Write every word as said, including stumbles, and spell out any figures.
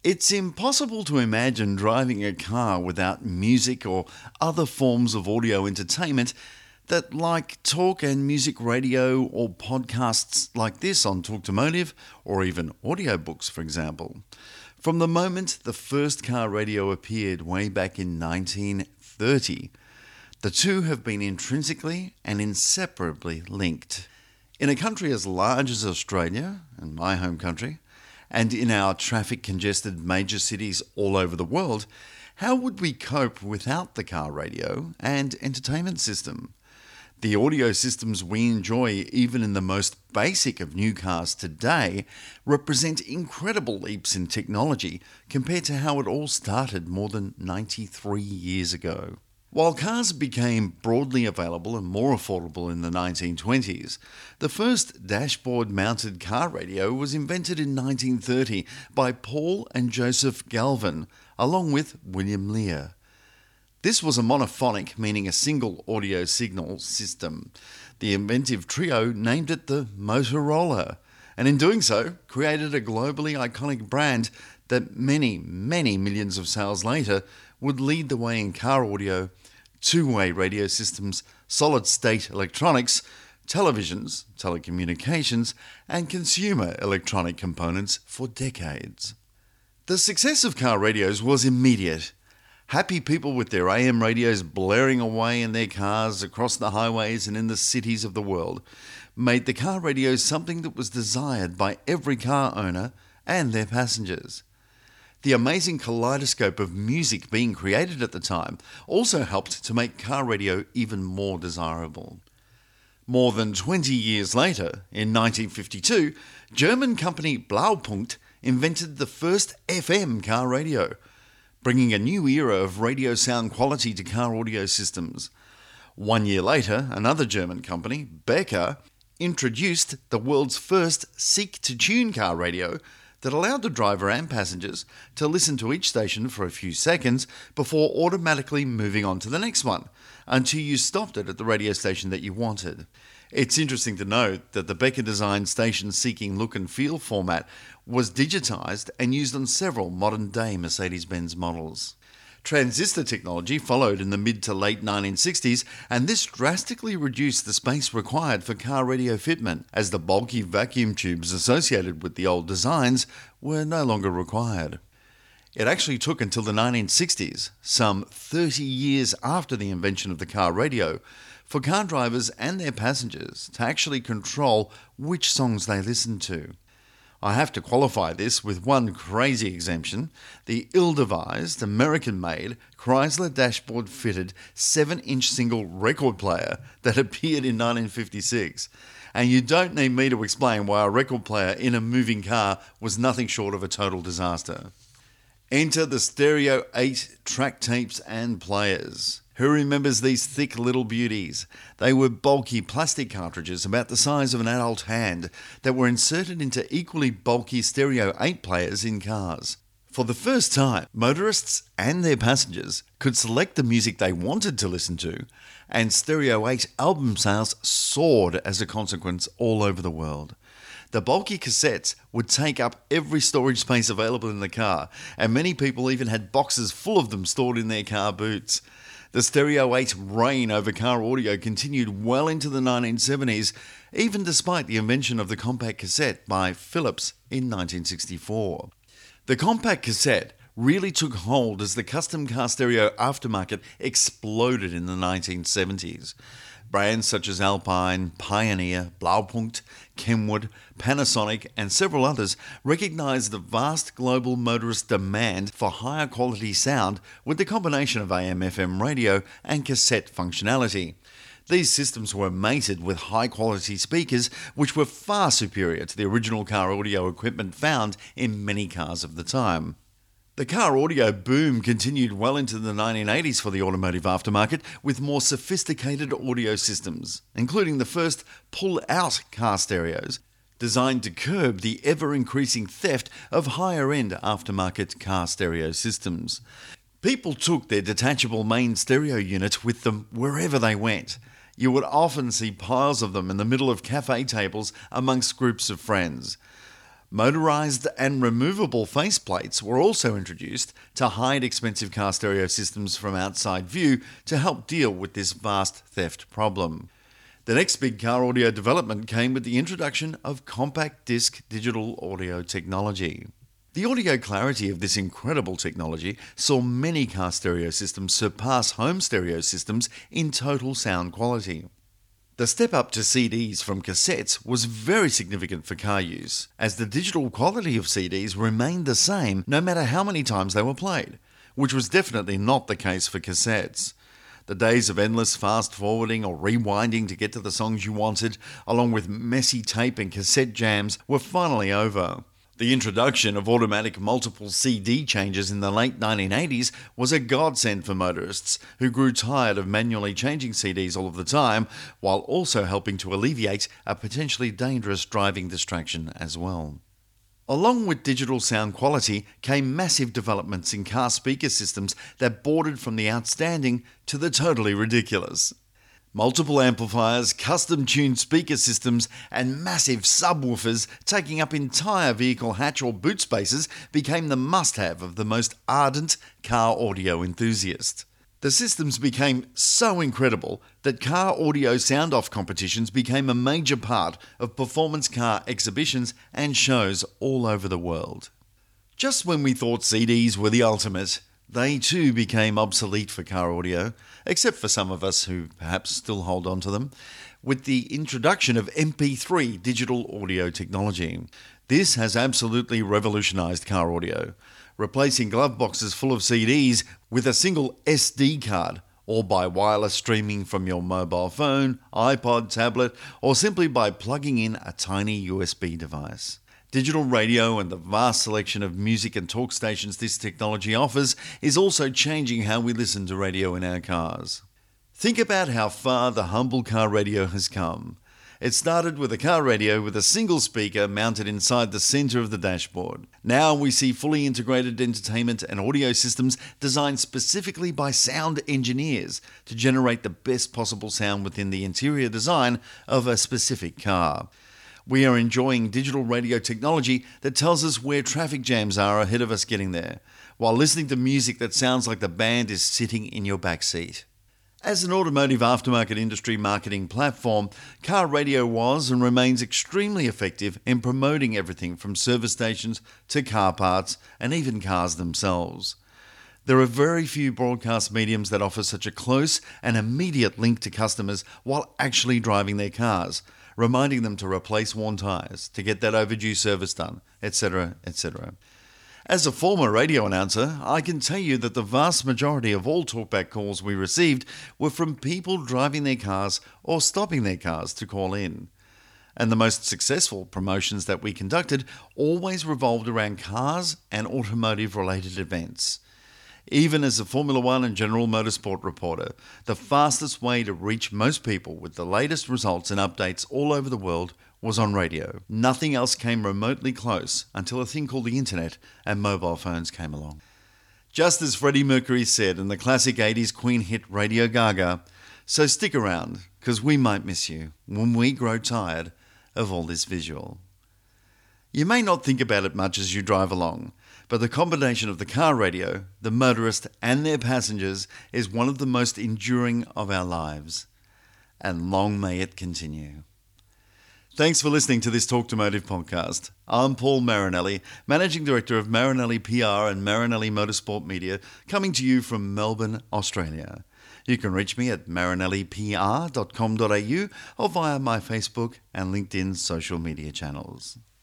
It's impossible to imagine driving a car without music or other forms of audio entertainment that, like talk and music radio or podcasts like this on Talktomotive, or even audiobooks, for example. From the moment the first car radio appeared way back in nineteen thirty, the two have been intrinsically and inseparably linked. In a country as large as Australia, and my home country, and in our traffic-congested major cities all over the world, how would we cope without the car radio and entertainment system? The audio systems we enjoy, even in the most basic of new cars today, represent incredible leaps in technology compared to how it all started more than ninety-three years ago. While cars became broadly available and more affordable in the nineteen twenties, the first dashboard-mounted car radio was invented in nineteen thirty by Paul and Joseph Galvin, along with William Lear. This was a monophonic, meaning a single audio signal system. The inventive trio named it the Motorola, and in doing so, created a globally iconic brand that many, many millions of sales later would lead the way in car audio, two-way radio systems, solid-state electronics, televisions, telecommunications, and consumer electronic components for decades. The success of car radios was immediate. Happy people with their A M radios blaring away in their cars across the highways and in the cities of the world made the car radio something that was desired by every car owner and their passengers. The amazing kaleidoscope of music being created at the time also helped to make car radio even more desirable. More than twenty years later, in nineteen fifty-two, German company Blaupunkt invented the first F M car radio, bringing a new era of radio sound quality to car audio systems. One year later, another German company, Becker, introduced the world's first seek-to-tune car radio that allowed the driver and passengers to listen to each station for a few seconds before automatically moving on to the next one, until you stopped it at the radio station that you wanted. It's interesting to note that the Becker-designed station-seeking look and feel format was digitized and used on several modern-day Mercedes-Benz models. Transistor technology followed in the mid to late nineteen sixties, and this drastically reduced the space required for car radio fitment, as the bulky vacuum tubes associated with the old designs were no longer required. It actually took until the nineteen sixties, some thirty years after the invention of the car radio, for car drivers and their passengers to actually control which songs they listened to. I have to qualify this with one crazy exemption: the ill-devised, American-made, Chrysler dashboard-fitted seven-inch single record player that appeared in nineteen fifty-six. And you don't need me to explain why a record player in a moving car was nothing short of a total disaster. Enter the Stereo eight track tapes and players. Who remembers these thick little beauties? They were bulky plastic cartridges about the size of an adult hand that were inserted into equally bulky Stereo eight players in cars. For the first time, motorists and their passengers could select the music they wanted to listen to, and Stereo eight album sales soared as a consequence all over the world. The bulky cassettes would take up every storage space available in the car, and many people even had boxes full of them stored in their car boots. The Stereo eight reign over car audio continued well into the nineteen seventies, even despite the invention of the compact cassette by Philips in nineteen sixty-four. The compact cassette really took hold as the custom car stereo aftermarket exploded in the nineteen seventies. Brands such as Alpine, Pioneer, Blaupunkt, Kenwood, Panasonic, and several others recognized the vast global motorist demand for higher quality sound with the combination of A M F M radio and cassette functionality. These systems were mated with high-quality speakers, which were far superior to the original car audio equipment found in many cars of the time. The car audio boom continued well into the nineteen eighties for the automotive aftermarket, with more sophisticated audio systems, including the first pull-out car stereos, designed to curb the ever-increasing theft of higher-end aftermarket car stereo systems. People took their detachable main stereo unit with them wherever they went. You would often see piles of them in the middle of cafe tables amongst groups of friends. Motorized and removable faceplates were also introduced to hide expensive car stereo systems from outside view to help deal with this vast theft problem. The next big car audio development came with the introduction of compact disc digital audio technology. The audio clarity of this incredible technology saw many car stereo systems surpass home stereo systems in total sound quality. The step up to C Ds from cassettes was very significant for car use, as the digital quality of C Ds remained the same no matter how many times they were played, which was definitely not the case for cassettes. The days of endless fast forwarding or rewinding to get to the songs you wanted, along with messy tape and cassette jams, were finally over. The introduction of automatic multiple C D changes in the late nineteen eighties was a godsend for motorists who grew tired of manually changing C Ds all of the time, while also helping to alleviate a potentially dangerous driving distraction as well. Along with digital sound quality came massive developments in car speaker systems that bordered from the outstanding to the totally ridiculous. Multiple amplifiers, custom-tuned speaker systems, and massive subwoofers taking up entire vehicle hatch or boot spaces became the must-have of the most ardent car audio enthusiast. The systems became so incredible that car audio sound-off competitions became a major part of performance car exhibitions and shows all over the world. Just when we thought C Ds were the ultimate, they too became obsolete for car audio, except for some of us who perhaps still hold on to them, with the introduction of M P three digital audio technology. This has absolutely revolutionized car audio, replacing glove boxes full of C Ds with a single S D card, or by wireless streaming from your mobile phone, iPod, tablet, or simply by plugging in a tiny U S B device. Digital radio and the vast selection of music and talk stations this technology offers is also changing how we listen to radio in our cars. Think about how far the humble car radio has come. It started with a car radio with a single speaker mounted inside the center of the dashboard. Now we see fully integrated entertainment and audio systems designed specifically by sound engineers to generate the best possible sound within the interior design of a specific car. We are enjoying digital radio technology that tells us where traffic jams are ahead of us getting there, while listening to music that sounds like the band is sitting in your back seat. As an automotive aftermarket industry marketing platform, car radio was and remains extremely effective in promoting everything from service stations to car parts and even cars themselves. There are very few broadcast mediums that offer such a close and immediate link to customers while actually driving their cars, reminding them to replace worn tyres, to get that overdue service done, et cetera, et cetera. As a former radio announcer, I can tell you that the vast majority of all talkback calls we received were from people driving their cars or stopping their cars to call in. And the most successful promotions that we conducted always revolved around cars and automotive-related events. Even as a Formula One and General Motorsport reporter, the fastest way to reach most people with the latest results and updates all over the world was on radio. Nothing else came remotely close until a thing called the internet and mobile phones came along. Just as Freddie Mercury said in the classic eighties Queen hit Radio Gaga, so stick around, because we might miss you when we grow tired of all this visual. You may not think about it much as you drive along, but the combination of the car radio, the motorist and their passengers is one of the most enduring of our lives. And long may it continue. Thanks for listening to this Talk2Motive podcast. I'm Paul Marinelli, Managing Director of Marinelli P R and Marinelli Motorsport Media, coming to you from Melbourne, Australia. You can reach me at marinelli p r dot com dot a u or via my Facebook and LinkedIn social media channels.